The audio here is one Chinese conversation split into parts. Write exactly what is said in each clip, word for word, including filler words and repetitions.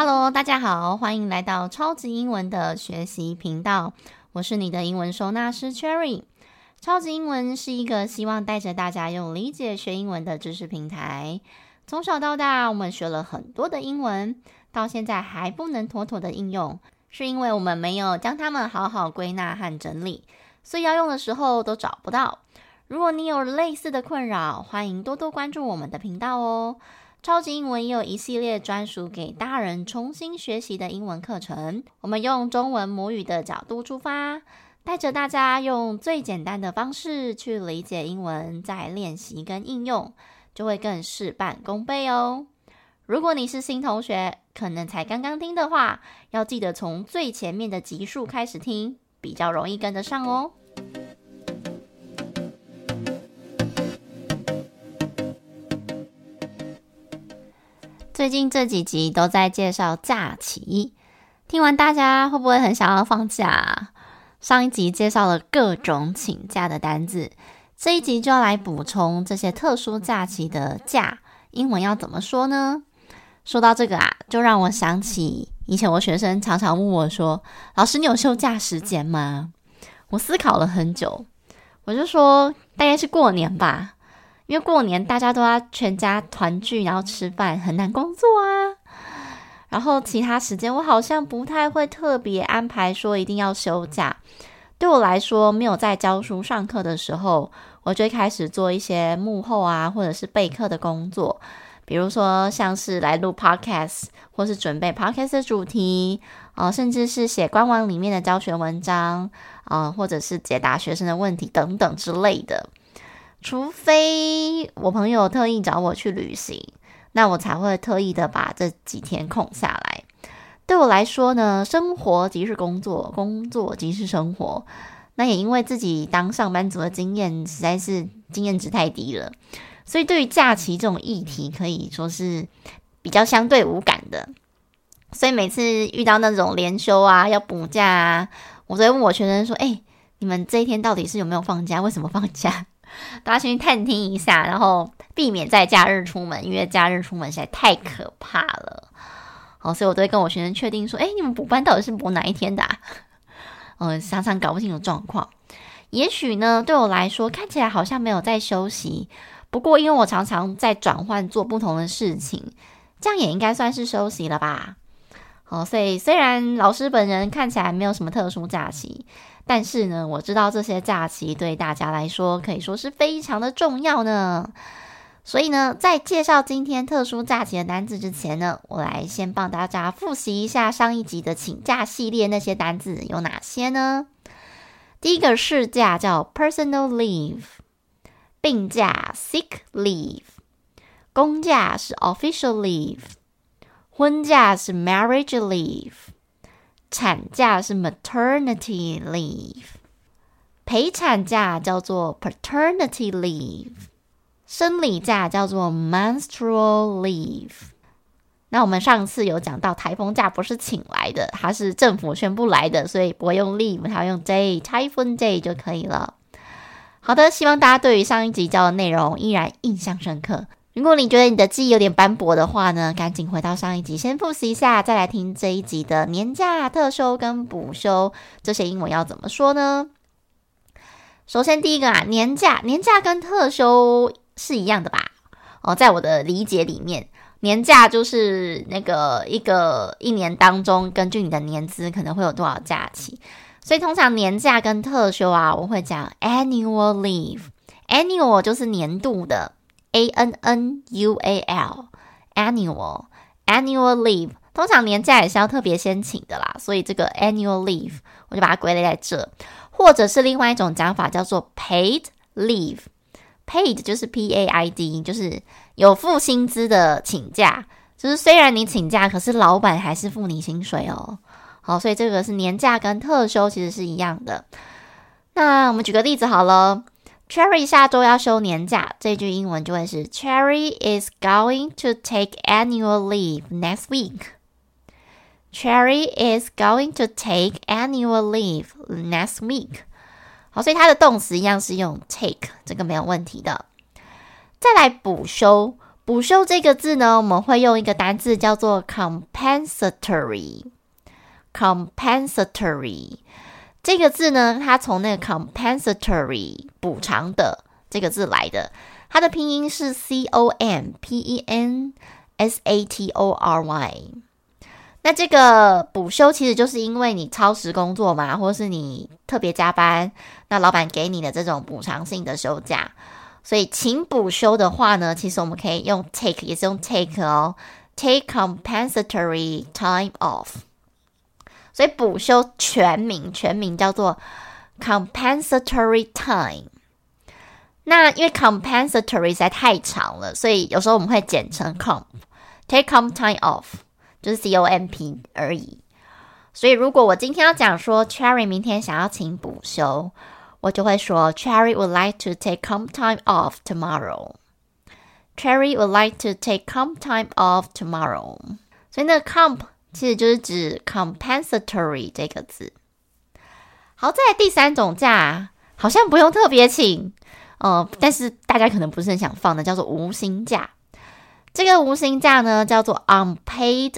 Hello， 大家好，歡迎來到超級英文的學習頻道，我是你的英文收納師 Cherry。超級英文是一個希望帶着大家用理解學英文的知識平台。從小到大，我們學了很多的英文，到現在還不能妥妥的應用，是因為我們沒有將它們好好歸納和整理，所以要用的時候都找不到。如果你有類似的困擾，歡迎多多關注我們的頻道哦。超級英文也有一系列專屬給大人重新學習的英文課程，我們用中文母語的角度出發，帶着大家用最簡單的方式去理解英文，再練習跟應用，就會更事半功倍哦。如果你是新同學，可能才剛剛聽的話，要記得從最前面的集數開始聽，比較容易跟得上哦。最近這幾集都在介紹假期，聽完大家會不會很想要放假？上一集介紹了各種請假的單字，這一集就要來補充這些特殊假期的假，英文要怎麼說呢？說到這個啊，就讓我想起以前我學生常常問我說，老師，你有休假時間嗎？我思考了很久，我就說大概是過年吧。因為過年大家都要全家團聚，然後吃飯，很難工作啊。然後其他時間我好像不太會特別安排說一定要休假。對我來說，沒有在教書上課的時候，我就會開始做一些幕後啊，或者是備課的工作。比如說像是來錄 podcast， 或是準備 podcast 的主題，呃，甚至是寫官網裡面的教學文章，呃，或者是解答學生的問題等等之類的。除非我朋友特意找我去旅行，那我才會特意的把這幾天空下來。對我來說呢，生活即是工作，工作即是生活。那也因為自己當上班族的經驗實在是經驗值太低了，所以對於假期這種議題可以說是比較相對無感的。所以每次遇到那種連休啊，要補假啊，我都會問我學生說，哎、欸，你們這一天到底是有沒有放假？為什麼放假？大家先去探聽一下，然後避免在假日出門，因為假日出門實在太可怕了。好，所以我都會跟我學生確定說，誒，你們補班到底是補哪一天的啊？嗯，常常搞不清楚狀況。也許呢，對我來說看起來好像沒有在休息，不過因為我常常在轉換做不同的事情，這樣也應該算是休息了吧。好，所以雖然老師本人看起來沒有什麼特殊假期，但是呢，我知道這些假期對大家來說可以說是非常的重要呢。所以呢，在介紹今天特殊假期的單字之前呢，我來先幫大家複習一下上一集的請假系列，那些單字有哪些呢？第一個事假叫 personal leave， 病假 sick leave， 公假是 official leave， 婚假是 marriage leave，產假是 maternity leave， 陪產假叫做 paternity leave， 生理假叫做 menstrual leave。 那我們上次有講到台風假不是請來的，它是政府宣布來的，所以不會用 leave， 它要用 day， typhoon day 就可以了。好的，希望大家對於上一集教的內容依然印象深刻。如果你覺得你的記憶有點斑駁的話呢，趕緊回到上一集先複習一下，再來聽這一集的年假、特休跟補休，這些英文要怎麼說呢？首先第一個啊，年假，年假跟特休是一樣的吧？哦，在我的理解裡面，年假就是那個一個一年當中，根據你的年資可能會有多少假期，所以通常年假跟特休啊，我會講 annual leave，annual 就是年度的。A N N U A L annual annual leave， 通常年假也是要特別先請的啦，所以這個 annual leave 我就把它歸類在這。或者是另外一種講法叫做 paid leave， paid 就是 P A I D， 就是有付薪資的請假，就是雖然你請假，可是老闆還是付你薪水哦。好，所以這個是年假跟特休其實是一樣的。那我們舉個例子好了。Cherry 下周要休年假，這句英文就會是 Cherry is going to take annual leave next week. Cherry is going to take annual leave next week. 好，所以它的動詞一樣是用 take， 這個沒有問題的。再來補休， 補修這個字呢，我們會用一個單字叫做 compensatory。compensatory 這個字呢，它從那個 compensatory 補償的這個字來的，它的拼音是 C O M P E N S A T O R Y。那這個補休其實就是因為你超時工作嘛，或是你特別加班，那老闆給你的這種補償性的休假。所以請補休的話呢，其實我們可以用 take， 也是用 take 哦 take compensatory time off。 所以補休全名全名叫做 compensatory time。 那因為 compensatory 實在太長了，所以有時候我們會簡稱 comp take comp time off， 就是 C O M P 而已。所以如果我今天要講說 Cherry 明天想要請補休，我就會說 Cherry would like to take comp time off tomorrow. Cherry would like to take comp time off tomorrow. 所以那個 comp 其實就是指 compensatory 這個字。好，再來第三種假，好像不用特別請，呃，但是大家可能不是很想放的，叫做無薪假。這個無薪假呢，叫做 unpaid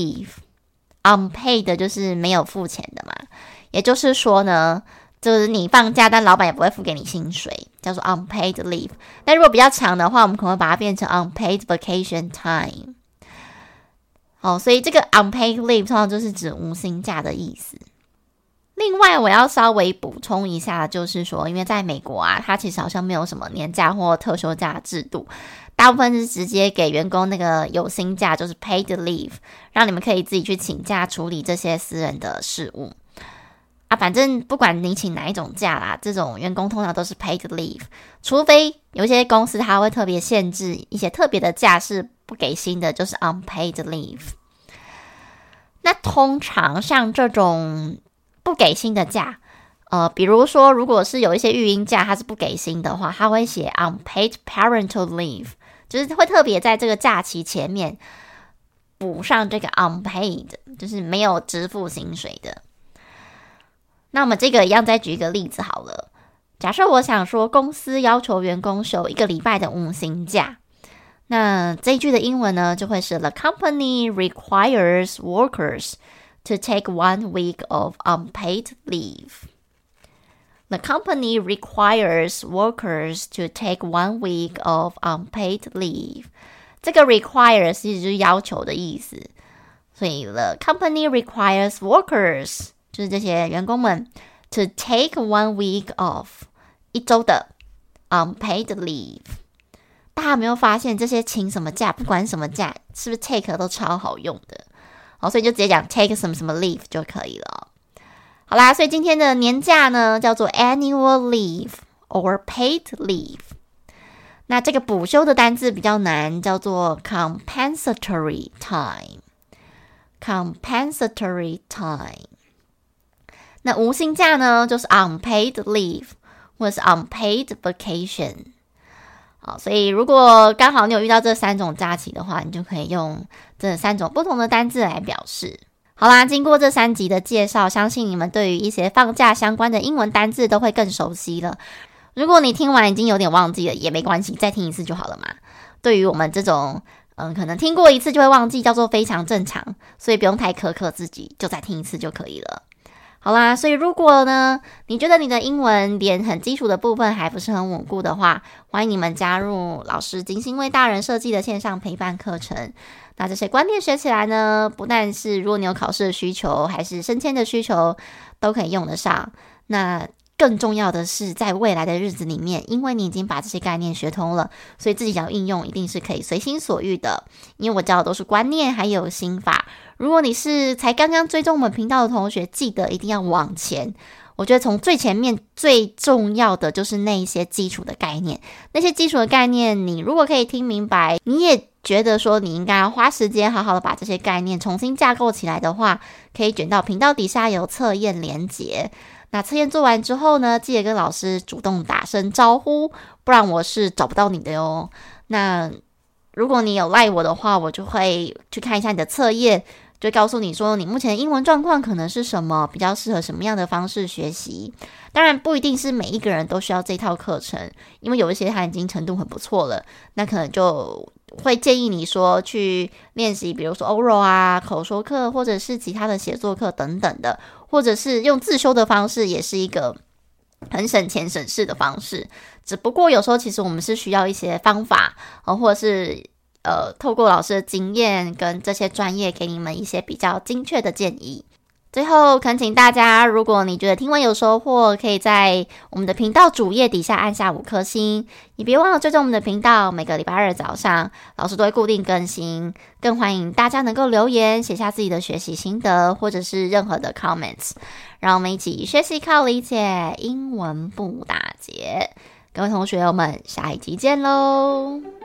leave。unpaid 就是沒有付錢的嘛，也就是說呢，就是你放假，但老闆也不會付給你薪水，叫做 unpaid leave。但如果比較長的話，我們可能會把它變成 unpaid vacation time。好，所以這個 unpaid leave 通常就是指無薪假的意思。另外，我要稍微補充一下，就是說，因為在美國啊，它其實好像沒有什麼年假或特休假制度，大部分是直接給員工那個有薪假，就是 paid leave， 讓你們可以自己去請假處理這些私人的事務。啊，反正不管你請哪一種假啦，這種員工通常都是 paid leave， 除非有一些公司它會特別限制一些特別的假是不給薪的，就是 unpaid leave。那通常像這種不給薪的假，呃，比如說如果是有一些育嬰假它是不給薪的話，它會寫 unpaid parental leave， 就是會特別在這個假期前面補上這個 unpaid， 就是沒有支付薪水的。那我們這個一樣再舉一個例子好了。假設我想說公司要求員工休一個禮拜的無薪假，那這一句的英文呢就會是 The company requires workers to take one week of unpaid leave. The company requires workers to take one week of unpaid leave. 這個 requires 其實就是要求的意思，所以 The company requires workers就是這些員工們 to take one week off 一周的 unpaid leave。 大家有沒有發現這些請什麼假，不管什麼假，是不是 take 都超好用的？好，所以就直接講 take 什麼什麼 leave 就可以了。好啦，所以今天的年假呢叫做 annual leave or paid leave。 那這個補休的單字比較難，叫做 compensatory time。 compensatory time。那無薪假呢，就是 unpaid leave 或者是 unpaid vacation。 好，所以如果剛好你有遇到這三種假期的話，你就可以用這三種不同的單字來表示。好啦，經過這三集的介紹，相信你們對於一些放假相關的英文單字都會更熟悉了。如果你聽完已經有點忘記了，也沒關係，再聽一次就好了嘛。對於我們這種嗯，可能聽過一次就會忘記，叫做非常正常，所以不用太苛刻自己，就再聽一次就可以了。好啦，所以如果呢，你覺得你的英文連很基礎的部分還不是很穩固的話，歡迎你們加入老師精心為大人設計的線上陪伴課程。那這些觀念學起來呢，不但是如果你有考試的需求，還是升遷的需求，都可以用得上。那更重要的是，在未來的日子裡面，因為你已經把這些概念學通了，所以自己想要應用一定是可以隨心所欲的。因為我教的都是觀念還有心法。如果你是才剛剛追蹤我們頻道的同學，記得一定要往前。我覺得從最前面最重要的就是那一些基礎的概念，那些基礎的概念，你如果可以聽明白，你也覺得說你應該要花時間好好的把這些概念重新架構起來的話，可以捲到頻道底下有測驗連結。那測驗做完之後呢，記得跟老師主動打聲招呼，不然我是找不到你的喲。那如果你有賴我的話，我就會去看一下你的測驗，就告訴你說你目前的英文狀況可能是什麼，比較適合什麼樣的方式學習。當然不一定是每一個人都需要這套課程，因為有一些他已經程度很不錯了，那可能就會建議你說去練習，比如說 oral 啊、口說課，或者是其他的寫作課等等的，或者是用自修的方式，也是一個很省錢省事的方式。只不過有時候其實我們是需要一些方法，呃、或者是呃透過老師的經驗跟這些專業給你們一些比較精確的建議。最後懇請大家，如果你覺得聽完有收穫，可以在我們的頻道主頁底下按下五顆星，也別忘了追蹤我們的頻道，每個禮拜二早上老師都會固定更新。更歡迎大家能夠留言寫下自己的學習心得，或者是任何的 comments， 讓我們一起學習靠理解，英文不打結。各位同學，我們下一集見嘍！